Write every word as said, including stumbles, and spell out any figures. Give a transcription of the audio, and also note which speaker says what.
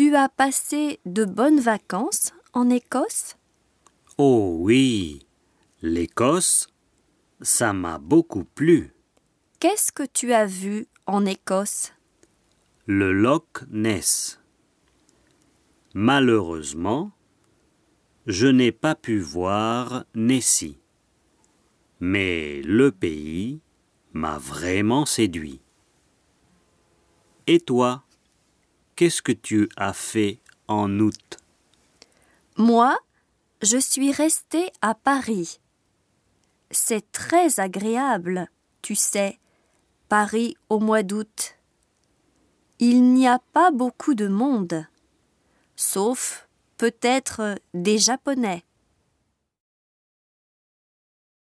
Speaker 1: Tu as passé de bonnes vacances en Écosse?
Speaker 2: Oh oui, l'Écosse, ça m'a beaucoup plu.
Speaker 1: Qu'est-ce que tu as vu en Écosse?
Speaker 2: Le Loch Ness. Malheureusement, je n'ai pas pu voir Nessie. Mais le pays m'a vraiment séduit. Et toi, qu'est-ce que tu as fait en août?
Speaker 1: Moi, je suis restée à Paris. C'est très agréable, tu sais, Paris au mois d'août. Il n'y a pas beaucoup de monde, sauf peut-être des Japonais.